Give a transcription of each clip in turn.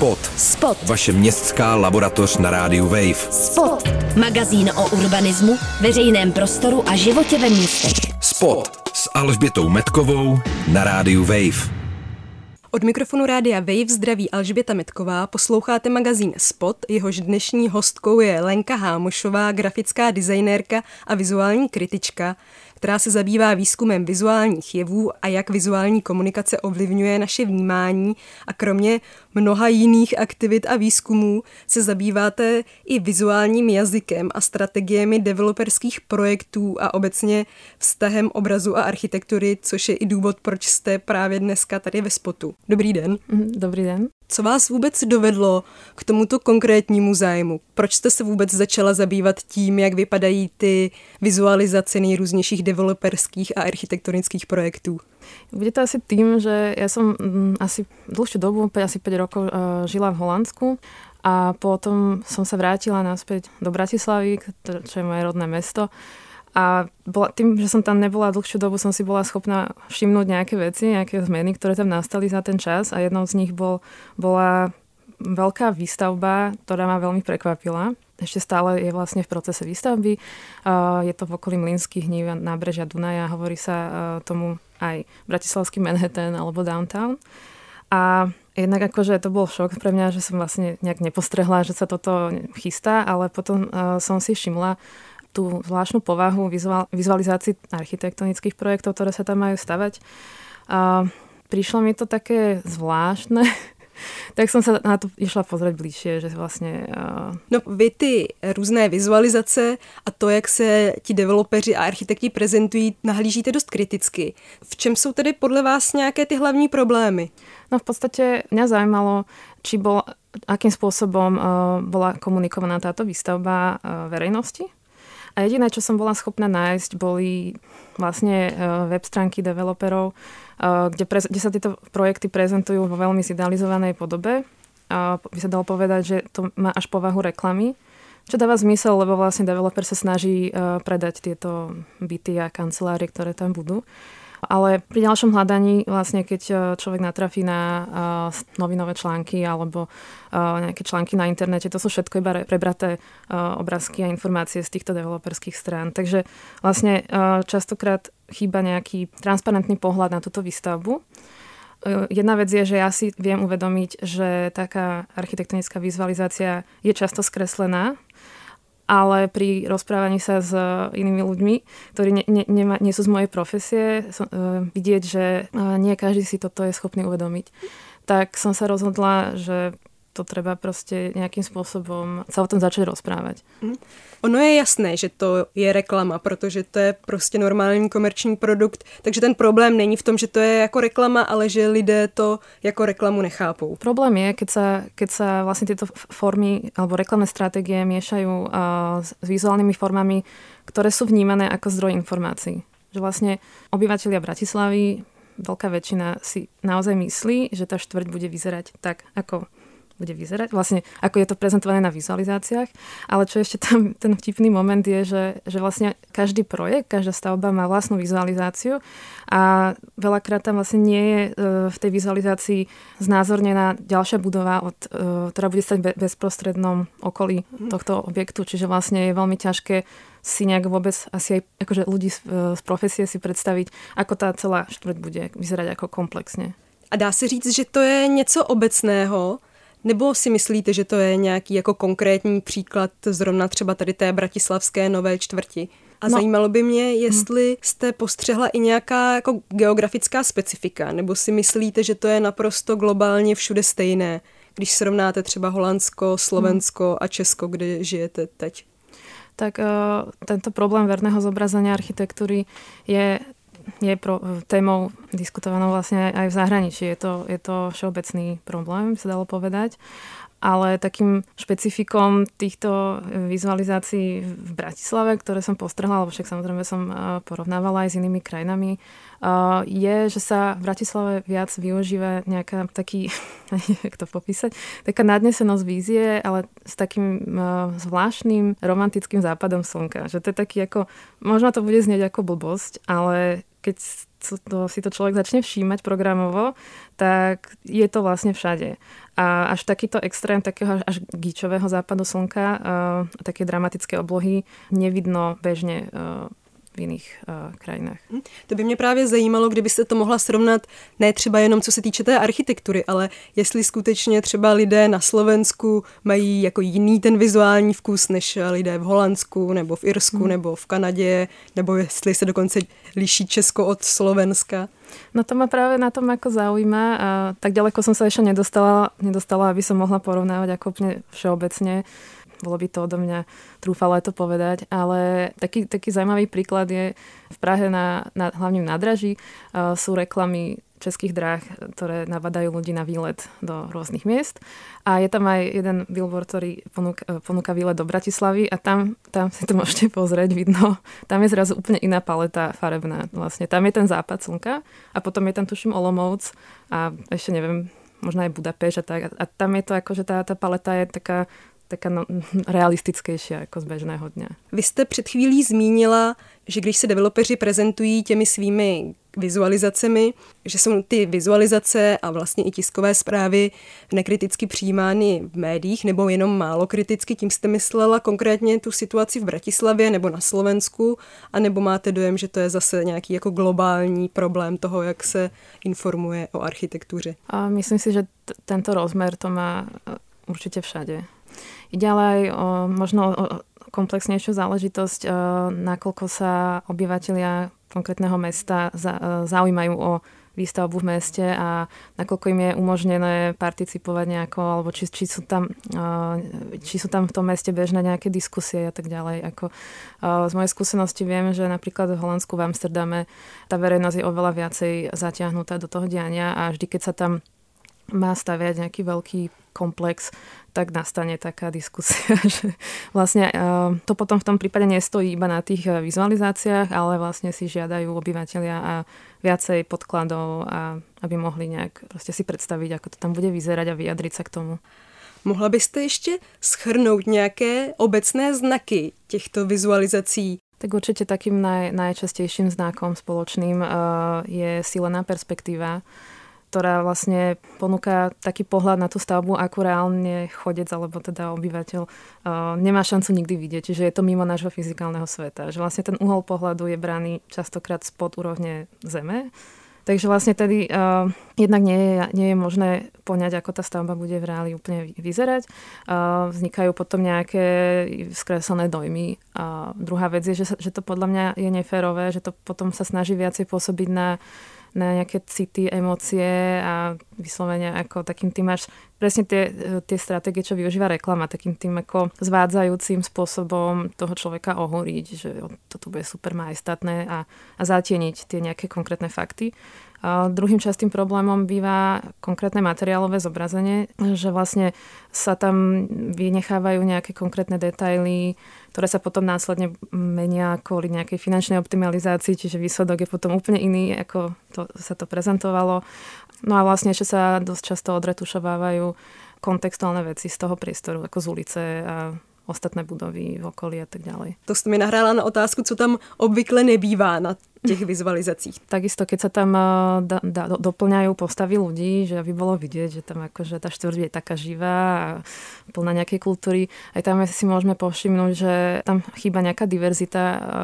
Spot. Spot. Vaše městská laboratoř na rádiu Wave. Spot. Magazín o urbanismu, veřejném prostoru a životě ve městech. Spot s Alžbětou Metkovou na rádiu Wave. Od mikrofonu rádia Wave zdraví Alžběta Metková, posloucháte magazín Spot, jehož dnešní hostkou je Lenka Hámošová, grafická designérka a vizuální kritička, která se zabývá výzkumem vizuálních jevů a jak vizuální komunikace ovlivňuje naše vnímání, a kromě mnoha jiných aktivit a výzkumů se zabýváte i vizuálním jazykem a strategiemi developerských projektů a obecně vztahem obrazu a architektury, což je i důvod, proč jste právě dneska tady ve Spotu. Dobrý den. Dobrý den. Co vás vůbec dovedlo k tomuto konkrétnímu zájmu? Proč jste se vůbec začala zabývat tím, jak vypadají ty vizualizace nejrůznějších developerských a architektonických projektů? Bude to asi tým, že ja som asi dlhšiu dobu, asi 5 rokov žila v Holandsku a potom som sa vrátila naspäť do Bratislavy, čo je moje rodné mesto. A tým, že som tam nebola dlhšiu dobu, som si bola schopná všimnúť nejaké veci, nejaké zmeny, ktoré tam nastali za ten čas, a jednou z nich bola veľká výstavba, ktorá ma veľmi prekvapila. Ešte stále je vlastne v procese výstavby. Je to v okolí Mlynských hnív a nábrežia Dunaja. Hovorí sa tomu aj bratislavský Manhattan alebo downtown. A jednak akože to bol šok pre mňa, že som vlastne nejak nepostrehla, že sa toto chystá, ale potom som si všimla tú zvláštnu povahu vizualizácií architektonických projektov, ktoré sa tam majú stavať. Prišlo mi to také zvláštne, tak som sa na to išla pozrieť bližšie, že vlastne... No vy ty různé vizualizace a to, jak se ti developeři a architekti prezentují, nahlížíte dost kriticky. V čem jsou tedy podle vás nějaké ty hlavní problémy? No v podstate mňa zaujímalo, akým spôsobom bola komunikovaná táto výstavba verejnosti. A jediné, čo som bola schopná nájsť, boli vlastne web stránky developerov, kde sa tieto projekty prezentujú vo veľmi zidealizovanej podobe. By sa dalo povedať, že to má až povahu reklamy, čo dáva zmysel, lebo vlastne developer sa snaží predať tieto byty a kancelárie, ktoré tam budú. Ale pri ďalšom hľadaní, vlastne keď človek natrafí na novinové články alebo nejaké články na internete, to sú všetko iba prebraté obrázky a informácie z týchto developerských strán. Takže vlastne častokrát chýba nejaký transparentný pohľad na túto výstavbu. Jedna vec je, že ja si viem uvedomiť, že taká architektonická vizualizácia je často skreslená, ale pri rozprávaní sa s inými ľuďmi, ktorí nie sú z mojej profesie, vidieť, že nie každý si toto je schopný uvedomiť. Tak som sa rozhodla, že to treba proste nejakým spôsobom sa o tom začať rozprávať. Ono je jasné, že to je reklama, protože to je prostě normální komerční produkt, takže ten problém není v tom, že to je jako reklama, ale že lidé to jako reklamu nechápou. Problém je, keď sa vlastne tieto formy alebo reklamné stratégie miešajú s vizuálnymi formami, ktoré sú vnímané ako zdroj informácií. Že vlastne obyvatelia Bratislavy, veľká väčšina si naozaj myslí, že tá štvrť bude vyzerať tak, ako bude vyzerať, vlastne ako je to prezentované na vizualizáciách, ale čo ešte tam ten vtipný moment je, že vlastne každý projekt, každá stavba má vlastnú vizualizáciu a veľakrát tam vlastne nie je v tej vizualizácii znázornená ďalšia budova, ktorá bude stať v bezprostrednom okolí tohto objektu, čiže vlastne je veľmi ťažké si nejak vôbec asi aj akože ľudí z profesie si predstaviť, ako tá celá štvrť bude vyzerať ako komplexne. A dá se říct, že to je něco obecného? Nebo si myslíte, že to je nějaký jako konkrétní příklad zrovna třeba tady té bratislavské nové čtvrti? A zajímalo by mě, jestli jste postřehla i nějaká jako geografická specifika, nebo si myslíte, že to je naprosto globálně všude stejné, když srovnáte třeba Holandsko, Slovensko a Česko, kde žijete teď? Tak tento problém verného zobrazenia architektúry je témou diskutovanou vlastne aj v zahraničí. Je to všeobecný problém, by sa dalo povedať. Ale takým špecifikom týchto vizualizácií v Bratislave, ktoré som postrhla, lebo však samozrejme som porovnávala aj s inými krajinami, je, že sa v Bratislave viac využíva nejaká taký, jak to popísať, taká nadnesenosť vízie, ale s takým zvláštnym romantickým západom slnka. Že to je taký ako, možno to bude znieť ako blbosť, ale keď si to človek začne všímať programovo, tak je to vlastne všade. A až takýto extrém takého až gíčového západu slnka, také dramatické oblohy nevidno bežne v jiných krajinách. To by mě právě zajímalo, kdybyste to mohla srovnat ne třeba jenom co se týče té architektury, ale jestli skutečně třeba lidé na Slovensku mají jako jiný ten vizuální vkus než lidé v Holandsku nebo v Irsku nebo v Kanadě, nebo jestli se dokonce liší Česko od Slovenska. No to ma práve na tom ako zaujíma a tak ďaleko som sa ešte nedostala, aby som mohla porovnávať ako úplne všeobecne. Bolo by to odo mňa trúfalo to povedať, ale taký zaujímavý príklad je v Prahe na hlavním nádraží sú reklamy Českých dráh, ktoré nabadajú ľudí na výlet do rôznych miest. A je tam aj jeden billboard, ktorý ponúka výlet do Bratislavy a tam si to môžete pozrieť, vidno. Tam je zrazu úplne iná paleta farebná. Vlastne tam je ten západ slnka a potom je tam tuším Olomouc a ešte neviem, možno aj Budapešť a tak. A tam je to ako, že tá paleta je taká realistickejšia ako z bežného dňa. Vy jste před chvílí zmínila, že když se developeři prezentují těmi svými vizualizacemi, že jsou ty vizualizace a vlastně i tiskové zprávy nekriticky přijímány v médiích nebo jenom málo kriticky. Tím jste myslela konkrétně tu situaci v Bratislavě nebo na Slovensku, anebo máte dojem, že to je zase nějaký jako globální problém toho, jak se informuje o architektuře? A myslím si, že tento rozmer to má určite všade. Ide ale aj možno o komplexnejšiu záležitosť, nakoľko sa obyvatelia konkrétneho mesta zaujímajú o výstavbu v meste a nakoľko im je umožnené participovať nejako, alebo či sú tam v tom meste bežné nejaké diskusie a tak ďalej. Z mojej skúsenosti viem, že napríklad v Holandsku, v Amsterdame tá verejnosť je oveľa viacej zatiahnutá do toho diania a vždy, keď sa tam má staviať nejaký veľký komplex, tak nastane taká diskusia, že vlastne to potom v tom prípade nestojí iba na tých vizualizáciách, ale vlastne si žiadajú obyvateľia a viacej podkladov, a aby mohli nejak proste si predstaviť, ako to tam bude vyzerať a vyjadriť sa k tomu. Mohla byste ještě shrnout nějaké obecné znaky těchto vizualizací? Tak určite takým najčastejším znakom spoločným je sílená perspektíva, ktorá vlastne ponúka taký pohľad na tú stavbu, ako reálne chodec alebo teda obyvateľ nemá šancu nikdy vidieť. Čiže je to mimo nášho fyzikálneho sveta. Že vlastne ten uhol pohľadu je braný častokrát spod úrovne Zeme. Takže vlastne tedy jednak nie je možné poňať, ako tá stavba bude v reáli úplne vyzerať. Vznikajú potom nejaké skreslené dojmy. Druhá vec je, že to podľa mňa je neférové, že to potom sa snaží viacej pôsobiť na nejaké city, emócie a vyslovene ako takým tým máš presne tie stratégie, čo využíva reklama, takým tým ako zvádzajúcim spôsobom toho človeka ohúriť, že toto bude super majestátne a zatieniť tie nejaké konkrétne fakty. A druhým častým problémom býva konkrétne materiálové zobrazenie, že vlastne sa tam vynechávajú nejaké konkrétne detaily, ktoré sa potom následne menia kvôli nejakej finančnej optimalizácii, čiže výsledok je potom úplne iný, ako sa to prezentovalo. No a vlastne ešte sa dosť často odretušovávajú kontextuálne veci z toho priestoru, ako z ulice a ostatné budovy v okolí a tak ďalej. To jste mi nahrála na otázku, co tam obvykle nebývá na těch vizualizacích. Takisto, keď sa tam doplňajú postavy ľudí, že aby bolo vidieť, že tam akože tá štvrť je taká živá a plná nejakej kultúry. Aj tam si môžeme povšimnúť, že tam chýba nejaká diverzita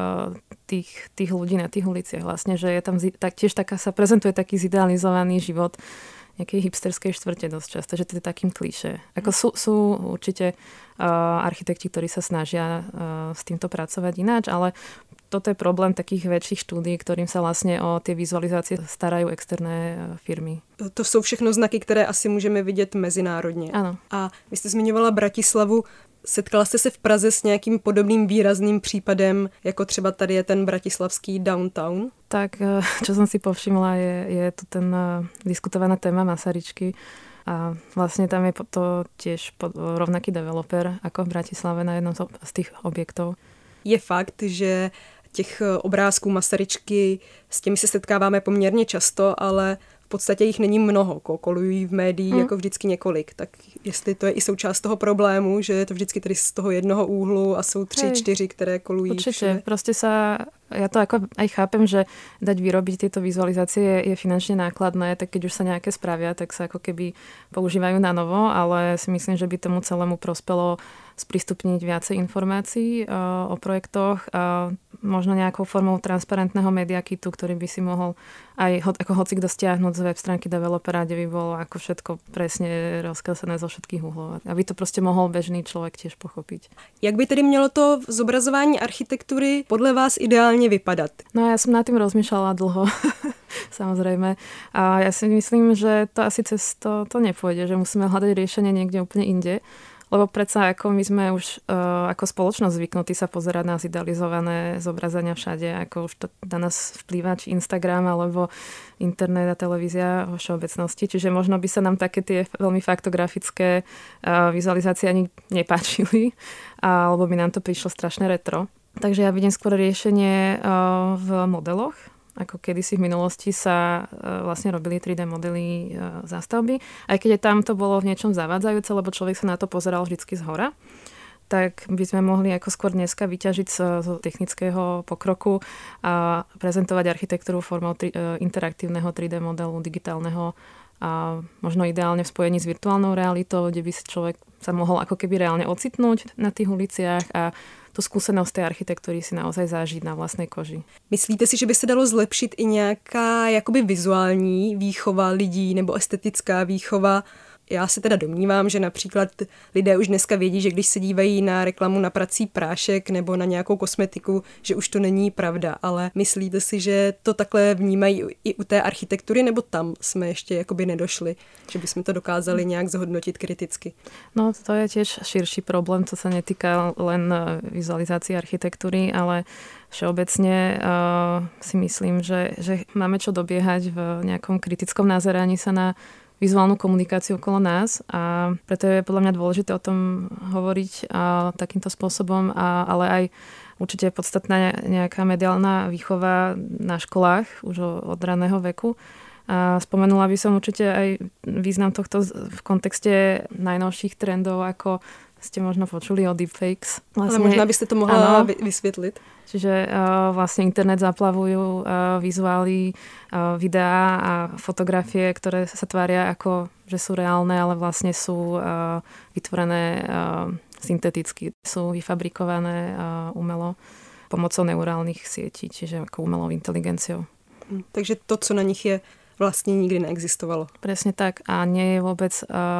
tých ľudí na tých uliciach. Vlastne, že je tam tiež taká, sa prezentuje taký zidealizovaný život nejakej hipsterskej štvrte dosť často, že to je takým klišé. Ako sú určite architekti, ktorí sa snažia s týmto pracovať ináč, ale toto je problém takých väčších štúdií, ktorým sa vlastne o tie vizualizácie starajú externé firmy. To jsou všechno znaky, které asi můžeme vidět mezinárodně. Ano. A vy jste zmiňovala Bratislavu. Setkala jste se v Praze s nějakým podobným výrazným případem, jako třeba tady je ten bratislavský downtown? Tak, čo som si povšimla, je tu ten diskutovaná téma Masaryčky. A vlastne tam je to tiež rovnaký developer ako v Bratislave na jednom z tých objektov. Je fakt, že těch obrázků Masaryčky, s těmi se setkáváme poměrně často, ale v podstatě jich není mnoho, kolují v médiích jako vždycky několik. Tak jestli to je i součást toho problému, že je to vždycky tady z toho jednoho úhlu a jsou 3, 4, které kolují. Určite, proste sa Ja to ako aj chápem, že dať vyrobiť tieto vizualizácie je finančne nákladné, tak keď už sa nejaké spravia, tak sa ako keby používajú na novo, ale si myslím, že by tomu celému prospelo sprístupniť viacej informácií o projektoch, možno nejakou formou transparentného media kitu, ktorý by si mohol aj ako hocikto stiahnuť z web stránky developera, kde by bolo ako všetko presne rozkreslené zo všetkých uhlov. Aby to prostě mohl bežný člověk tiež pochopiť. Jak by tedy mělo to zobrazování architektury podle vás ideálně vypadat? No ja som nad tým rozmýšľala dlho, samozrejme. A ja si myslím, že to asi cez to nepôjde, že musíme hľadať riešenie niekde úplne inde. Lebo predsa ako my sme už ako spoločnosť zvyknutí sa pozerať na zidealizované zobrazenia všade, ako už to na nás vplýva, či Instagram, alebo internet a televízia vo všeobecnosti. Čiže možno by sa nám také tie veľmi faktografické vizualizácie ani nepáčili, alebo by nám to prišlo strašne retro. Takže ja vidím skôr riešenie v modeloch, ako kedysi v minulosti sa vlastne robili 3D modely zástavby. Aj keď tam to bolo v niečom zavádzajúce, lebo človek sa na to pozeral vždycky zhora, tak by sme mohli ako skôr dneska vyťažiť z technického pokroku a prezentovať architektúru formou interaktívneho 3D modelu, digitálneho a možno ideálne v spojení s virtuálnou realitou, kde by si človek sa mohol ako keby reálne ocitnúť na tých uliciach a tu skúsenosť tej architektúry si naozaj zažiť na vlastnej koži. Myslíte si, že by se dalo zlepšit i nějaká jakoby vizuální výchova lidí nebo estetická výchova? Já se teda domnívám, že například lidé už dneska vědí, že když se dívají na reklamu na prací prášek nebo na nějakou kosmetiku, že už to není pravda, ale myslíte si, že to takhle vnímají i u té architektury, nebo tam jsme ještě jakoby nedošli, že bychom to dokázali nějak zhodnotit kriticky? No to je tiež širší problém, co sa netýka len vizualizácie architektúry, ale všeobecne si myslím, že máme čo dobiehať v nejakom kritickom nazeraní sa na vizuálnu komunikáciu okolo nás a preto je podľa mňa dôležité o tom hovoriť takýmto spôsobom, ale aj určite je podstatná nejaká mediálna výchova na školách už od raného veku. A spomenula by som určite aj význam tohto v kontexte najnovších trendov, ako ste možno počuli o deepfakes. Vlastne, ale možná byste to mohla vysvětlit. Čiže vlastne internet zaplavujú vizuály, videá a fotografie, ktoré sa tvária ako, že sú reálne, ale vlastne sú vytvorené synteticky. Sú vyfabrikované umelo pomocou neurálnych sietí, čiže ako umelou inteligenciou. Takže to, co na nich je, vlastne nikdy neexistovalo. Presne tak a nie je vôbec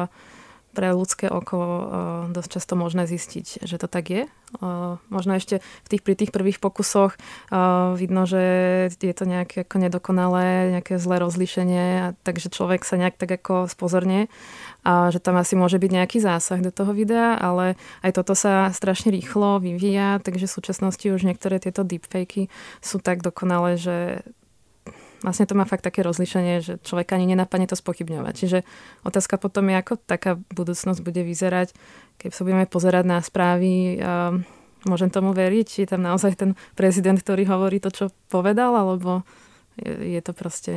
pre ľudské oko dosť často možné zistiť, že to tak je. Možno ešte pri tých prvých pokusoch vidno, že je to nejaké ako nedokonalé, nejaké zlé rozlíšenie, takže človek sa nejak tak ako spozornie a že tam asi môže byť nejaký zásah do toho videa, ale aj toto sa strašne rýchlo vyvíja, takže v súčasnosti už niektoré tieto deepfakey sú tak dokonalé, že vlastne to má fakt také rozlišenie, že človeka ani nenapadne to spochybňovať. Čiže otázka potom je, ako taká budúcnosť bude vyzerať, keď sa budeme pozerať na správy. Môžem tomu veriť? Je tam naozaj ten prezident, ktorý hovorí to, čo povedal, alebo je to prostě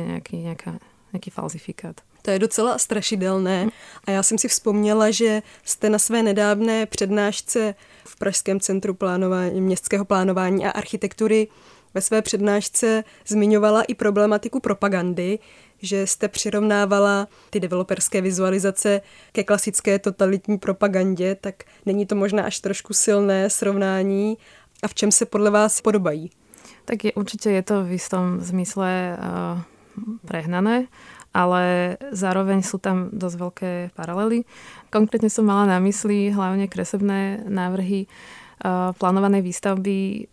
nejaký falzifikát? To je docela strašidelné a já jsem si vzpomněla, že jste na své nedávné přednášce v Pražském centru městského plánování a architektury ve své přednášce zmiňovala i problematiku propagandy, že jste přirovnávala ty developerské vizualizace ke klasické totalitní propagandě, tak není to možná až trošku silné srovnání a v čem se podle vás podobají? Tak určite je to v istom zmysle prehnané, ale zároveň sú tam dosť veľké paralely. Konkrétne som mala na mysli hlavne kresebné návrhy plánovanej výstavby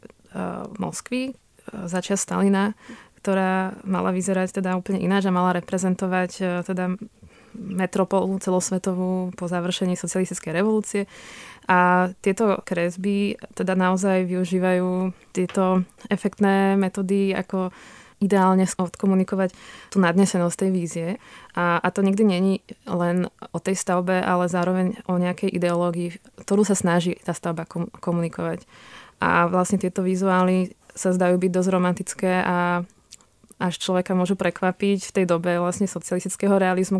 Moskvy začiat Stalina, ktorá mala vyzerať teda úplne ináč a mala reprezentovať teda metropolu celosvetovú po završení socialistickej revolúcie. A tieto kresby teda naozaj využívajú tieto efektné metódy, ako ideálne odkomunikovať tú nadnesenosť tej vízie. A to nikdy není len o tej stavbe, ale zároveň o nejakej ideológii, ktorú sa snaží tá stavba komunikovať. A vlastne tieto vizuály sa zdajú byť dosť romantické a až človeka môžu prekvapiť v tej dobe vlastne socialistického realizmu,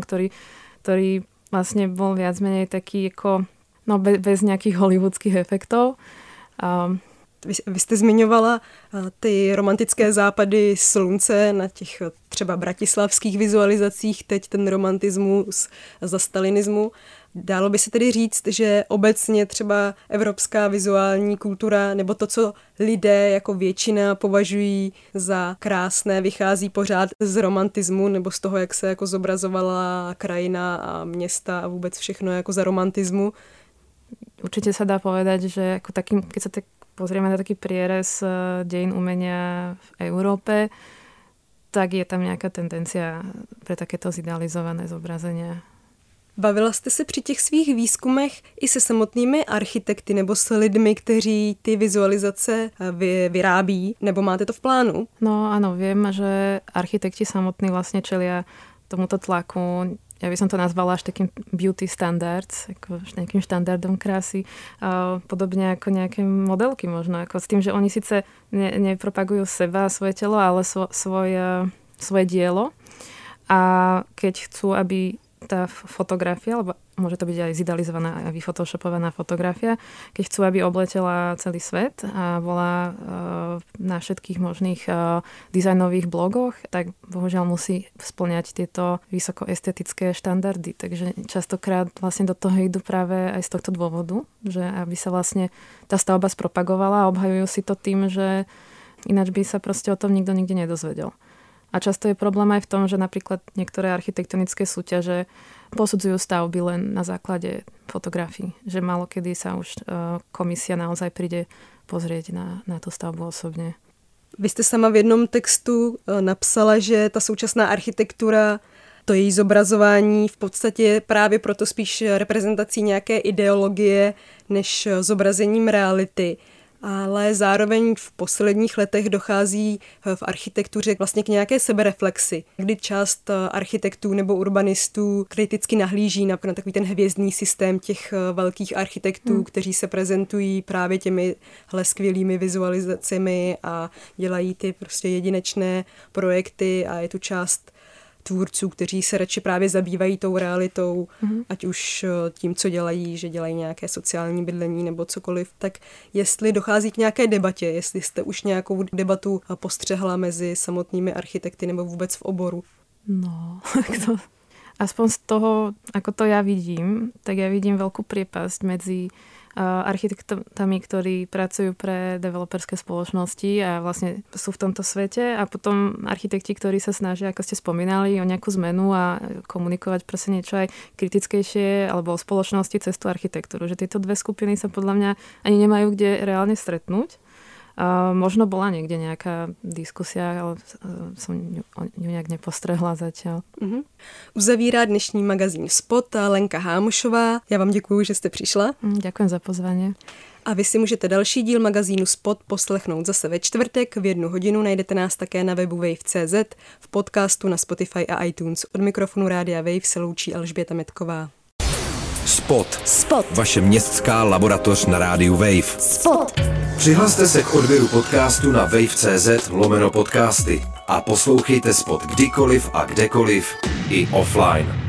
ktorý vlastne bol viac menej taký ako, no bez nejakých hollywoodských efektov. Vy jste zmiňovala ty romantické západy slunce na těch třeba bratislavských vizualizacích, teď ten romantismus za stalinismu. Dalo by se tedy říct, že obecně třeba evropská vizuální kultura nebo to, co lidé jako většina považují za krásné, vychází pořád z romantismu nebo z toho, jak se jako zobrazovala krajina a města a vůbec všechno jako za romantismu. Určite sa dá povedať, že ako takým, keď sa tak pozrieme na taký prierez dejín umenia v Európe, tak je tam nejaká tendencia pre takéto zidealizované zobrazenia. Bavila jste se při těch svých výzkumech i se samotnými architekty nebo s lidmi, kteří ty vizualizace vyrábí, nebo máte to v plánu? No áno, viem, že architekti samotní vlastne čelia tomuto tlaku. Ja by som to nazvala až takým beauty standards, ako nejakým štandardom krásy. Podobne ako nejaké modelky možno, ako s tým, že oni síce nepropagujú seba, svoje telo, ale svoje dielo. A keď chcú, aby tá fotografia, alebo môže to byť aj zidealizovaná a vyfotoshopovaná fotografia, keď chcú, aby obletela celý svet a bola na všetkých možných dizajnových blogoch, tak bohužiaľ musí spĺňať tieto vysokoestetické štandardy. Takže častokrát vlastne do toho idú práve aj z tohto dôvodu, že aby sa vlastne tá stavba spropagovala a obhajujú si to tým, že ináč by sa proste o tom nikto nikde nedozvedel. A často je problém aj v tom, že napríklad niektoré architektonické súťaže posudzujú stavby len na základe fotografií. Že málo kedy sa už komisia naozaj príde pozrieť na tú stavbu osobne. Vy jste sama v jednom textu napsala, že ta současná architektura, to její zobrazování v podstatě právě proto spíš reprezentací nějaké ideologie než zobrazením reality. Ale zároveň v posledních letech dochází v architektuře vlastně k nějaké sebereflexi, kdy část architektů nebo urbanistů kriticky nahlíží na takový ten hvězdný systém těch velkých architektů, kteří se prezentují právě těmihle skvělými vizualizacemi a dělají ty prostě jedinečné projekty a je tu část tvůrců, kteří se radši právě zabývají tou realitou, ať už tím, co dělají, že dělají nějaké sociální bydlení nebo cokoliv, tak jestli dochází k nějaké debatě, jestli jste už nějakou debatu postřehla mezi samotnými architekty nebo vůbec v oboru. No, aspoň z toho, ako to ja vidím, tak ja vidím veľkú priepasť medzi architektami, ktorí pracujú pre developerské spoločnosti a vlastne sú v tomto svete a potom architekti, ktorí sa snažia, ako ste spomínali, o nejakú zmenu a komunikovať proste niečo aj kritickejšie alebo o spoločnosti cez tú architektúru. Že tieto dve skupiny sa podľa mňa ani nemajú kde reálne stretnúť. Možno bola niekde nejaká diskusia, ale som ju nejak nepostrehla zatiaľ. Uzavírá dnešní magazín Spot Lenka Hámošová. Já vám děkuju, že jste přišla. Ďakujem za pozvanie. A vy si můžete další díl magazínu Spot poslechnout zase ve čtvrtek v 1 hodinu. Najdete nás také na webu Wave.cz, v podcastu na Spotify a iTunes. Od mikrofonu Rádia Wave se loučí Alžběta Metková. Spot. Vaše městská laboratoř na rádiu Wave. Spot. Přihlaste se k odběru podcastu na wave.cz/podcasty a poslouchejte Spot kdykoliv a kdekoliv i offline.